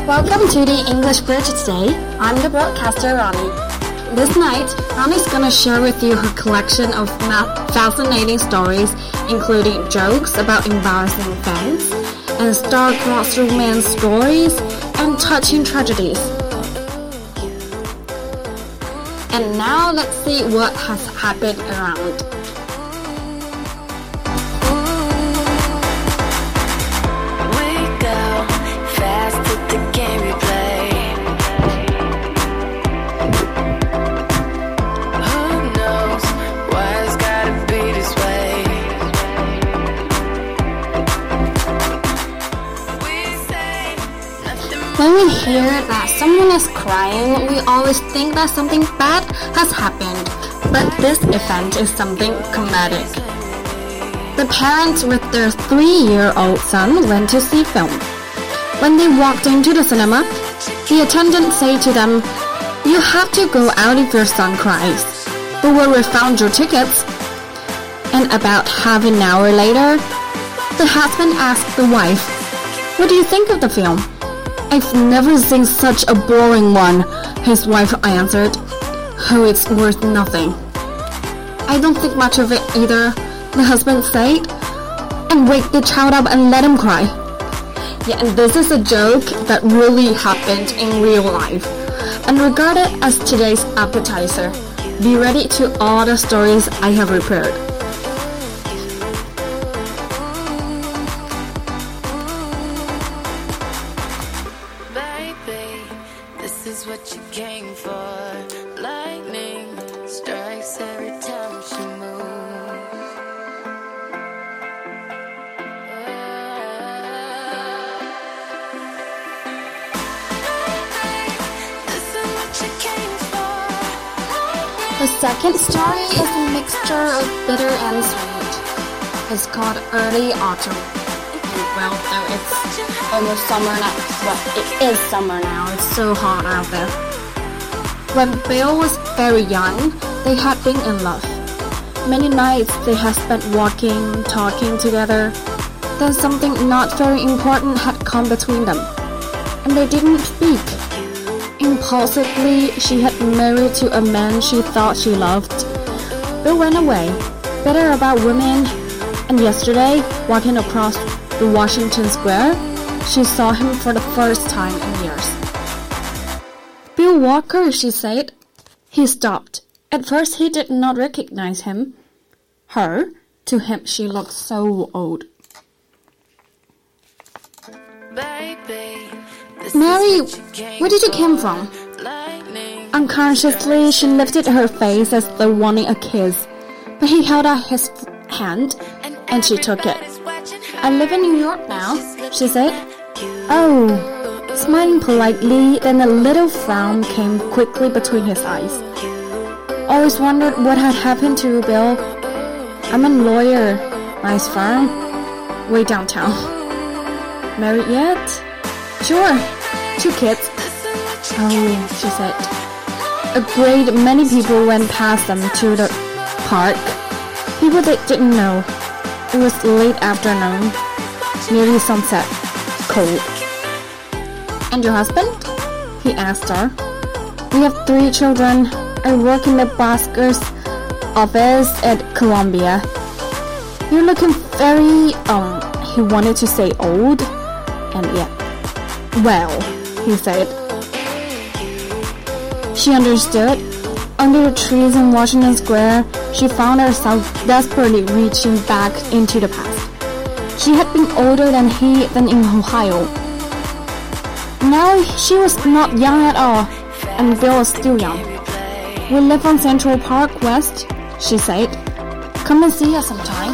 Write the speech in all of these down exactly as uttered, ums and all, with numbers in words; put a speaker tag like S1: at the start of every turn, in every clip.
S1: Welcome to the English Bridge today. I'm the broadcaster Ronnie. This night, Ronnie's gonna share with you her collection of fascinating stories, including jokes about embarrassing events, and star-crossed romance stories, and touching tragedies. And now let's see what has happened around. When we hear that someone is crying, we always think that something bad has happened, but this event is something comedic. The parents with their three-year-old son went to see film. When they walked into the cinema, the attendant said to them, "You have to go out if your son cries. But where we found your tickets?" And about half an hour later, the husband asked the wife, "What do you think of the film?" "I've never seen such a boring one," his wife answered. "Oh, it's worth nothing." "I don't think much of it either," the husband said. "And wake the child up and let him cry." Yeah, and this is a joke that really happened in real life, and regarded as today's appetizer. Be ready to all the stories I have prepared.
S2: This is what you came for. Lightning strikes every time she moves. This is what you came for.
S1: The second story is a mixture of bitter and sweet. It's called Early Autumn. Well, though it's almost summer now. Well, it is summer now. It's so hot out there. When Bill was very young, they had been in love. Many nights they had spent walking, talking together. Then something not very important had come between them, and they didn't speak. Impulsively, she had married to a man she thought she loved. Bill went away, bitter about women, and yesterday, walking across the Washington Square, she saw him for the first time in years. "Bill Walker," she said. He stopped. At first he did not recognize him. Her, to him she looked so old. "Mary, where did you come from?" Unconsciously, she lifted her face as though wanting a kiss, but he held out his hand, and she took it. "I live in New York now," she said. "Oh," smiling politely, then a little frown came quickly between his eyes. "Always wondered what had happened to you, Bill." "I'm a lawyer. Nice firm. Way downtown." "Married yet?" "Sure. Two kids." "Oh," she said. A great many people went past them to the park. People they didn't know. It was late afternoon, nearly sunset, cold. "And your husband?" he asked her. "We have three children. I work in the Basker's office at Columbia." "You're looking very, um, he wanted to say old, and yeah. "Well," he said. She understood. Under the trees in Washington Square, she found herself desperately reaching back into the past. She had been older than he than in Ohio. Now she was not young at all, and Bill was still young. "We live on Central Park West," she said. "Come and see us sometime."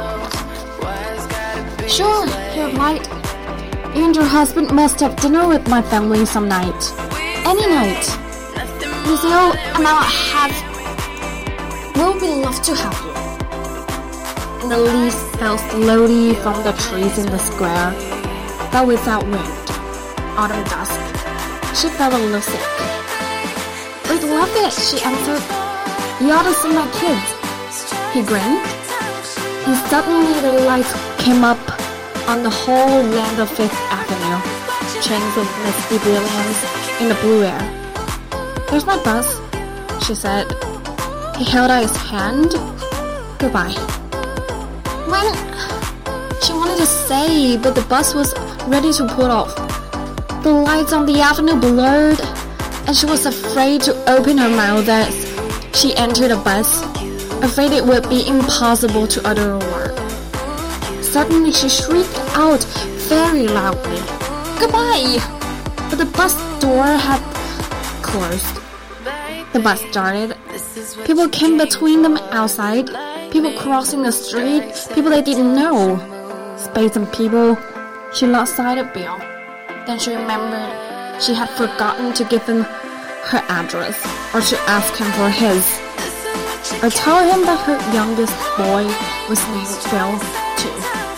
S1: "Sure," he replied. "You and your husband must have dinner with my family some night." "Any night." "Lucille and I'll have... We'll be love to have you." And the leaves fell slowly from the trees in the square, but without wind. Autumn dusk. She felt a little sick. "We'd love it," she answered. "You ought to see my kids." He grinned. And suddenly the lights came up on the whole length of Fifth Avenue. chains of misty brilliance in the blue air. "There's my bus," she said. He held out his hand. "Goodbye." When she wanted to say, but the bus was ready to pull off. The lights on the avenue blurred, and she was afraid to open her mouth as she entered the bus, afraid it would be impossible to utter a word. Suddenly she shrieked out very loudly, "Goodbye!" But the bus door had closed. The bus started. People came between them outside, people crossing the street, people they didn't know. Space and people. She lost sight of Bill. Then she remembered she had forgotten to give him her address or to ask him for his, or tell him that her youngest boy was named Bill too.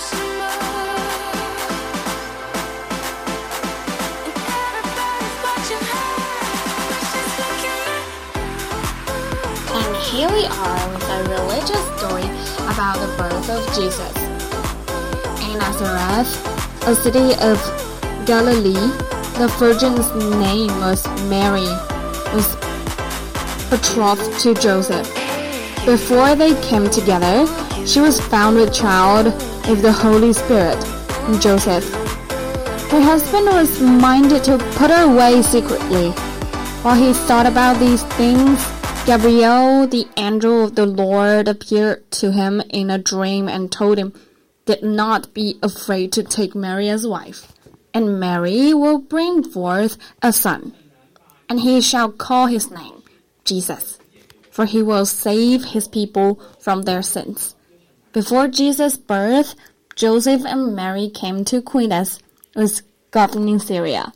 S1: And here we are with a religious story about the birth of Jesus. In Nazareth, a city of Galilee, the virgin's name was Mary, was betrothed to Joseph. Before they came together, she was found with child of the Holy Spirit, Joseph. Her husband was minded to put her away secretly. While he thought about these things, Gabriel, the angel of the Lord, appeared to him in a dream and told him, "Did not be afraid to take Mary as wife, and Mary will bring forth a son, and he shall call his name Jesus, for he will save his people from their sins." Before Jesus' birth, Joseph and Mary came to Quinas, who was governing Syria.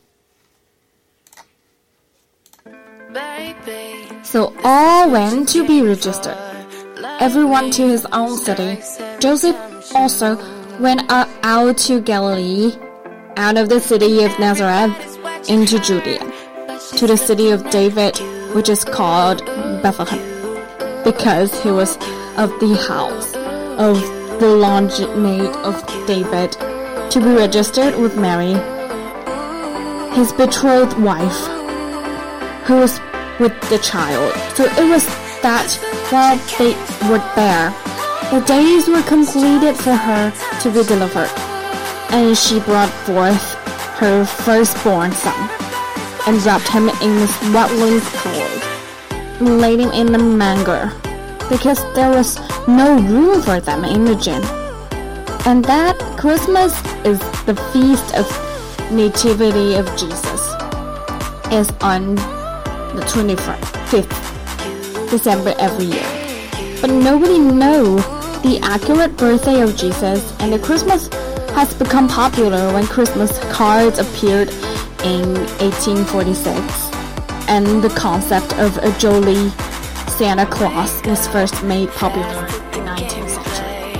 S1: So all went to be registered, everyone to his own city. Joseph also went out to Galilee, out of the city of Nazareth, into Judea, to the city of David, which is called Bethlehem, because he was of the house of the lineage of David, to be registered with Mary, his betrothed wife, who was with the child. So it was that while they were there, the days were completed for her to be delivered, and she brought forth her firstborn son, and wrapped him in swaddling clothes, and laid him in a manger, because there was no room for them in the inn. And that Christmas is the feast of Nativity of Jesus, is on the twenty-fifth December every year. But nobody knows the accurate birthday of Jesus, and the Christmas has become popular when Christmas cards appeared in eighteen forty-six, and the concept of a jolly Santa Claus was first made popular in the nineteenth century.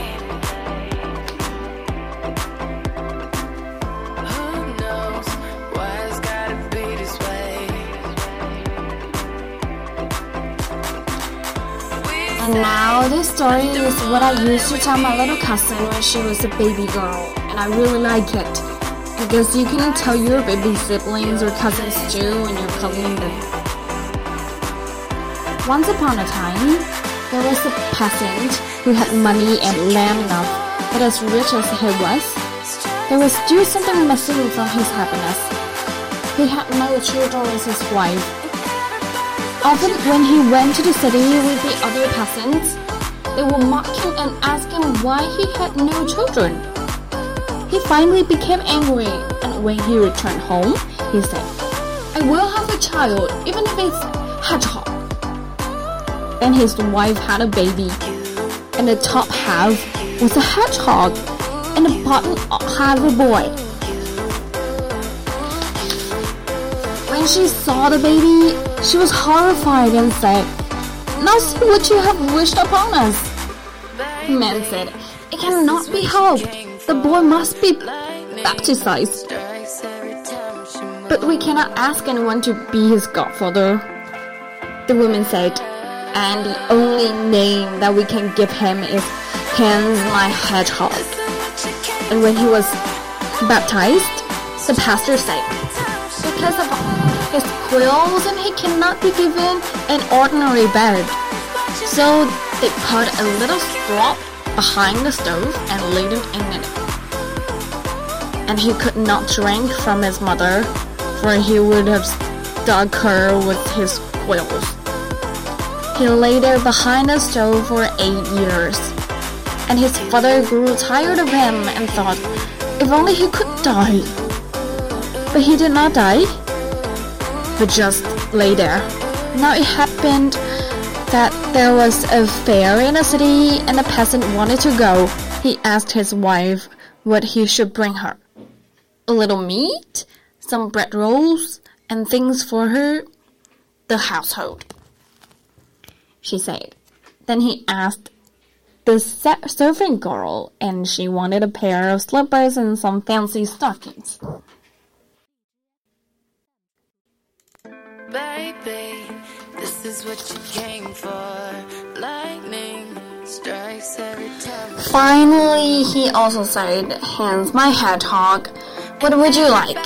S1: And now this story is what I used to tell my little cousin when she was a baby girl, and I really like it, because you can tell your baby siblings or cousins too when you're cuddling them. Once upon a time, there was a peasant who had money and land enough, but as rich as he was, there was still something missing from his happiness. He had no children with his wife. Often when he went to the city with the other peasants, they would mock him and ask him why he had no children. He finally became angry, and when he returned home, he said, "I will have a child, even if it's hedgehog." Then his wife had a baby, and the top half was a hedgehog, and the bottom half a boy. When she saw the baby, she was horrified and said, "Now see what you have wished upon us." The man said, "It cannot be helped. The boy must be baptized. But we cannot ask anyone to be his godfather." The woman said, "And the only name that we can give him is Hans my Hedgehog." And when he was baptized, the pastor said, because of his quills and he cannot be given an ordinary bed. So they put a little straw behind the stove and laid him in it. And he could not drink from his mother, for he would have stuck her with his quills. He lay there behind the stove for eight years, and his father grew tired of him and thought, if only he could die. But he did not die, but just lay there. Now it happened that there was a fair in the city, and the peasant wanted to go. He asked his wife what he should bring her. A little meat, some bread rolls, and things for her, the household, she said. Then he asked the servant girl, and she wanted a pair of slippers and some fancy stockings.
S2: Baby, this is what you came for. Lightning strikes every time.
S1: Finally, he also said, Hans my hedgehog, what would you like?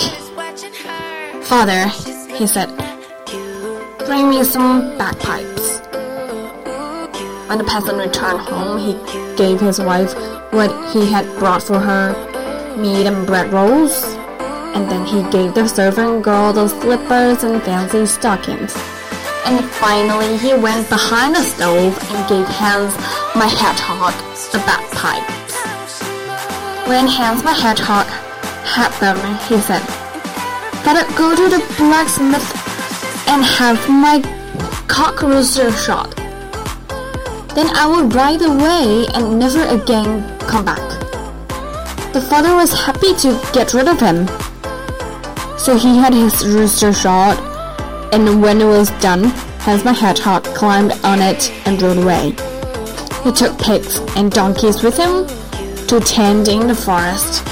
S1: Father, he said, bring me some bagpipes. When the peasant returned home, he gave his wife what he had brought for her, meat and bread rolls, and then he gave the servant girl the slippers and fancy stockings. And finally, he went behind the stove and gave Hans my hedgehog the bagpipes. When Hans my hedgehog had them, he said, Better go to the blacksmith and have my cock rooster shot. Then I will ride away and never again come back. The father was happy to get rid of him. So he had his rooster shot, and when it was done, Hans my hedgehog climbed on it and rode away. He took pigs and donkeys with him to tend in the forest.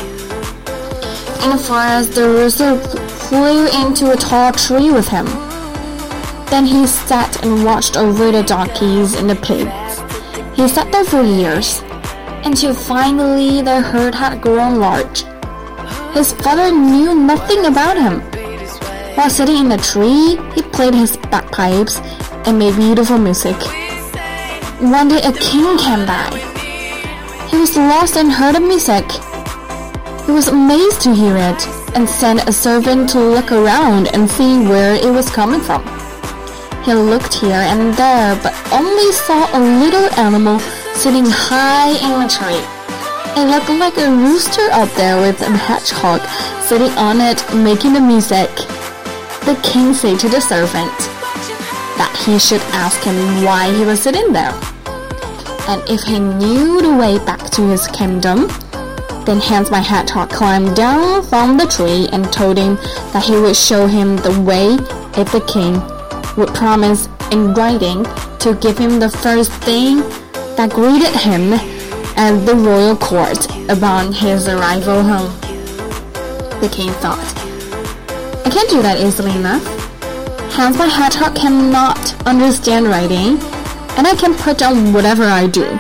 S1: In the forest, the rooster flew into a tall tree with him. Then he sat and watched over the donkeys and the pigs. He sat there for years, until finally the herd had grown large. His father knew nothing about him. While sitting in the tree, he played his bagpipes and made beautiful music. One day a king came by. He was lost and heard the music. He was amazed to hear it and sent a servant to look around and see where it was coming from. He looked here and there, but only saw a little animal sitting high in a tree. It looked like a rooster up there with a hedgehog sitting on it making the music. The king said to the servant that he should ask him why he was sitting there. And if he knew the way back to his kingdom, then Hans my hedgehog climbed down from the tree and told him that he would show him the way if the king would promise in writing to give him the first thing that greeted him at the royal court upon his arrival home. The king thought, I can't do that easily enough. Hans my hedgehog cannot understand writing, and I can put down whatever I do.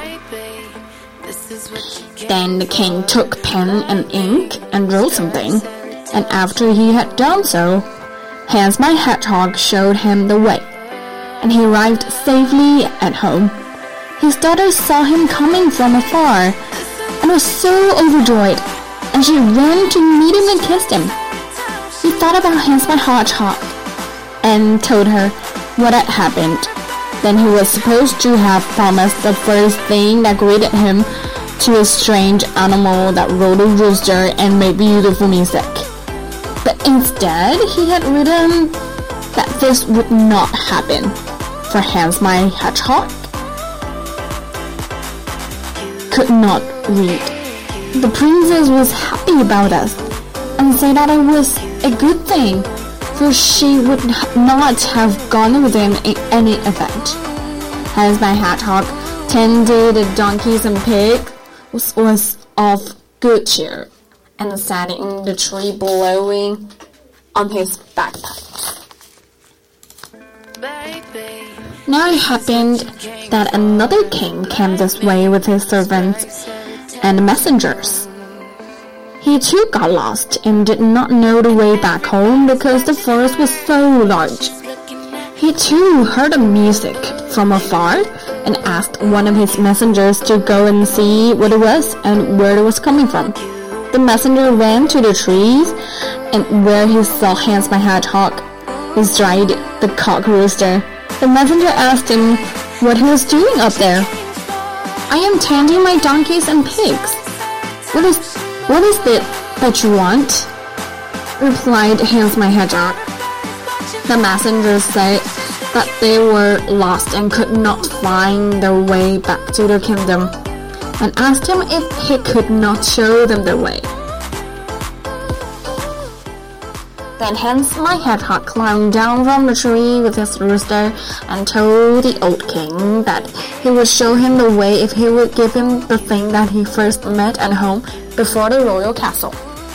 S1: Then the king took pen and ink and wrote something, and after he had done so, Hans my hedgehog showed him the way, and he arrived safely at home. His daughter saw him coming from afar, and was so overjoyed, and she ran to meet him and kissed him. He thought about Hans my hedgehog, and told her what had happened. Then he was supposed to have promised the first thing that greeted him to a strange animal that rode a rooster and made beautiful music. But instead, he had written that this would not happen, for Hans my hedgehog could not read. The princess was happy about us, and said that it was a good thing, for she would not have gone with him in any event. Hans my hedgehog tended the donkeys and pigs, was of good cheer, and sat in the tree blowing on his bagpipes. Now it happened that another king came this way with his servants and messengers. He too got lost and did not know the way back home because the forest was so large. He too heard the music from afar and asked one of his messengers to go and see what it was and where it was coming from. The messenger ran to the trees, and where he saw Hans my Hedgehog bestride the cock rooster. The messenger asked him what he was doing up there. "I am tending my donkeys and pigs. What is, what is it that you want?" replied Hans my Hedgehog. The messenger said that they were lost and could not find their way back to their kingdom, and asked him if he could not show them their way. Then Hans my Hedgehog climbed down from the tree with his rooster and told the old king that he would show him the way if he would give him the thing that he first met at home before the royal castle.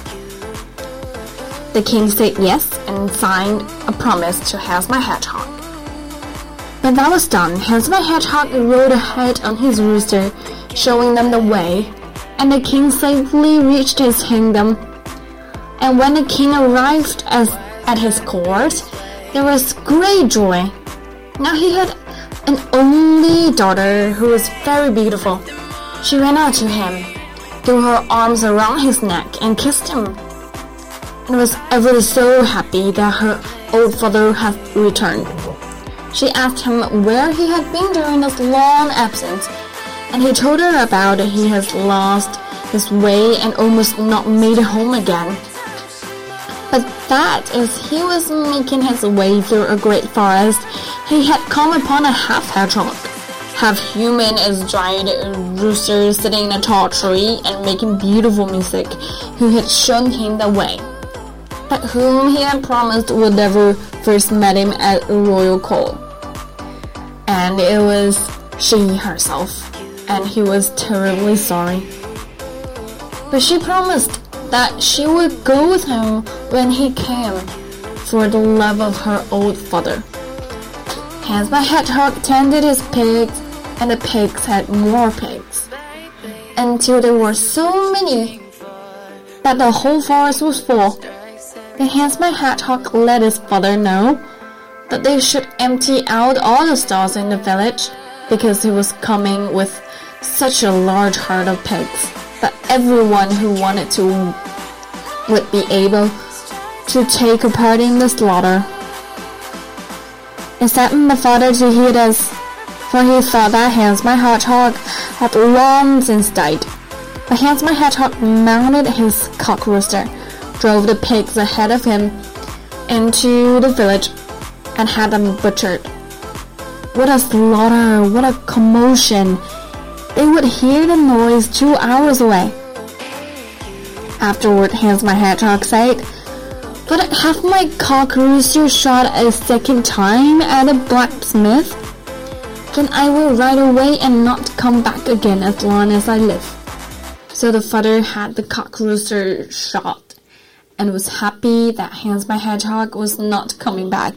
S1: The king said yes and signed a promise to Hans my Hedgehog. When that was done, Hans my Hedgehog rode ahead on his rooster, showing them the way, and the king safely reached his kingdom. And when the king arrived as, at his court, there was great joy. Now he had an only daughter who was very beautiful. She ran out to him, threw her arms around his neck, and kissed him, and was ever so happy that her old father had returned. She asked him where he had been during his long absence, and he told her about it. He has lost his way and almost not made it home again. But that as he was making his way through a great forest, he had come upon a half hedgehog, half human as giant rooster sitting in a tall tree and making beautiful music, who had shown him the way, but whom he had promised would never first met him at a royal court. And it was she herself, and he was terribly sorry. But she promised that she would go with him when he came, for the love of her old father. Hans my Hedgehog tended his pigs, and the pigs had more pigs, until there were so many that the whole forest was full. Then Hans my Hedgehog let his father know that they should empty out all the stalls in the village, because he was coming with such a large herd of pigs that everyone who wanted to would be able to take a part in the slaughter. It saddened the father to hear this, for he thought that Hans my Hedgehog had long since died. But Hans my Hedgehog mounted his cock rooster, drove the pigs ahead of him into the village, and had them butchered. What a slaughter! What a commotion! They would hear the noise two hours away. Afterward, Hans my Hedgehog said, "But have my cock rooster shot a second time at a blacksmith? Then I will ride away and not come back again as long as I live." So the father had the cock rooster shot, and was happy that Hans my Hedgehog was not coming back.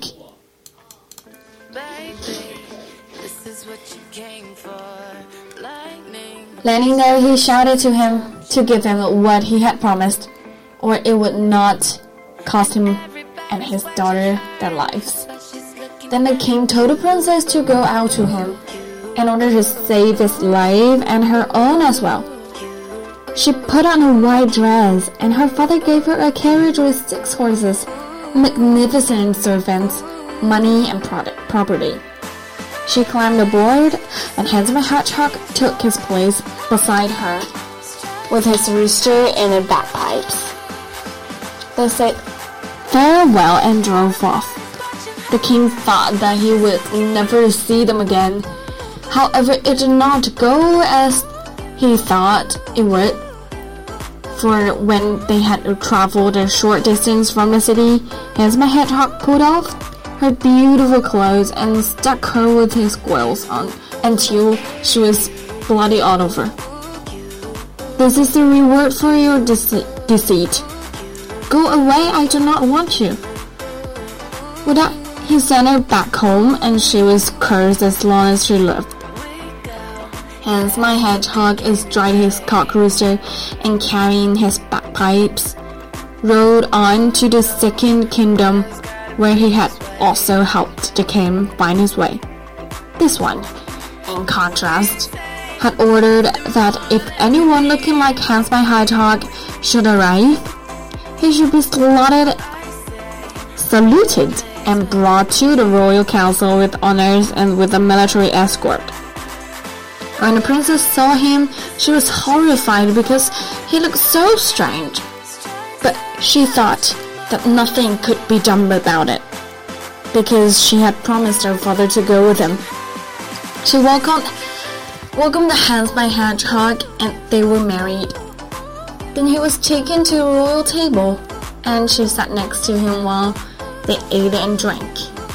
S1: Landing there, he shouted to him to give him what he had promised, or it would not cost him and his daughter their lives. Then the king told the princess to go out to him, in order to save his life and her own as well. She put on a white dress, and her father gave her a carriage with six horses, magnificent servants, money, and product, property. She climbed aboard, and Hans my Hedgehog took his place beside her, with his rooster and the bagpipes. They said farewell and drove off. The king thought that he would never see them again. However, it did not go as he thought it would. For when they had traveled a short distance from the city, Hans my Hedgehog pulled off her beautiful clothes and stuck her with his quills on until she was bloody all over. "This is the reward for your dece- deceit. Go away, I do not want you." With that, he sent her back home, and she was cursed as long as she lived. Hans my Hedgehog astride his cock rooster and carrying his bagpipes, rode on to the second kingdom, where he had also helped the king find his way. This one, in contrast, had ordered that if anyone looking like Hans my Hedgehog should arrive, he should be slaughtered, saluted, and brought to the royal council with honors and with a military escort. When the princess saw him, she was horrified because he looked so strange. But she thought that nothing could be done about it, because she had promised her father to go with him. She welcomed, welcomed Hans my Hedgehog, and they were married. Then he was taken to a royal table, and she sat next to him while they ate and drank.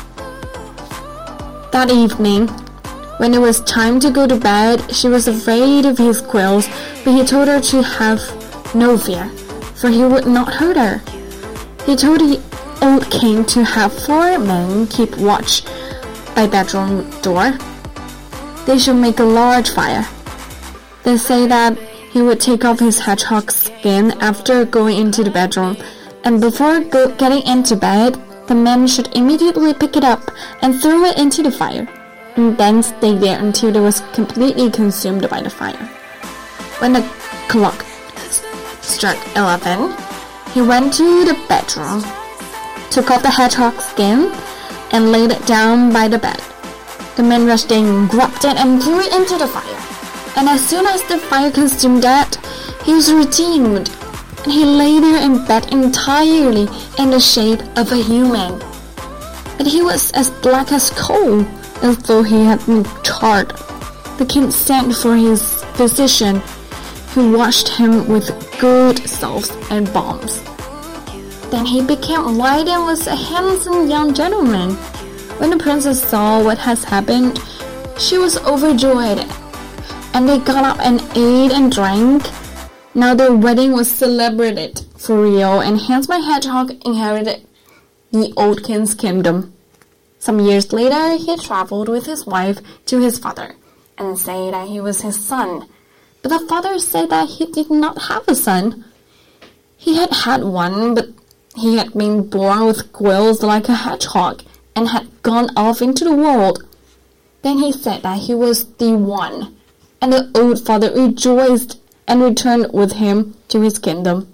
S1: That evening, when it was time to go to bed, she was afraid of his quills, but he told her to have no fear, for he would not hurt her. He told the old king to have four men keep watch by bedroom door. They should make a large fire. They say that he would take off his hedgehog's skin after going into the bedroom, and before go getting into bed, the men should immediately pick it up and throw it into the fire, and then stay there until it was completely consumed by the fire. When the clock struck eleven, he went to the bedroom, took off the hedgehog's skin, and laid it down by the bed. The men rushed in, grabbed it, and threw it into the fire. And as soon as the fire consumed it, he was redeemed, and he lay there in bed entirely in the shape of a human. But he was as black as coal, as though he had been charred. The king sent for his physician, who washed him with good salves and balms. Then he became white and was a handsome young gentleman. When the princess saw what had happened, she was overjoyed, and they got up and ate and drank. Now their wedding was celebrated for real, and Hans my Hedgehog inherited the old king's kingdom. Some years later, he traveled with his wife to his father, and said that he was his son. But the father said that he did not have a son. He had had one, but he had been born with quills like a hedgehog, and had gone off into the world. Then he said that he was the one, and the old father rejoiced and returned with him to his kingdom.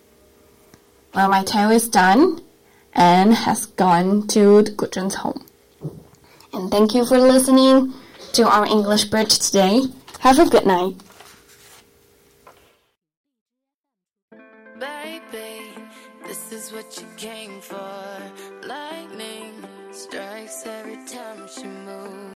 S1: Well, my tale is done, and has gone to the Gudrun's home. And thank you for listening to our English Bridge today. Have a good night.
S2: Baby, this is what you came for. Lightning strikes every time she moves.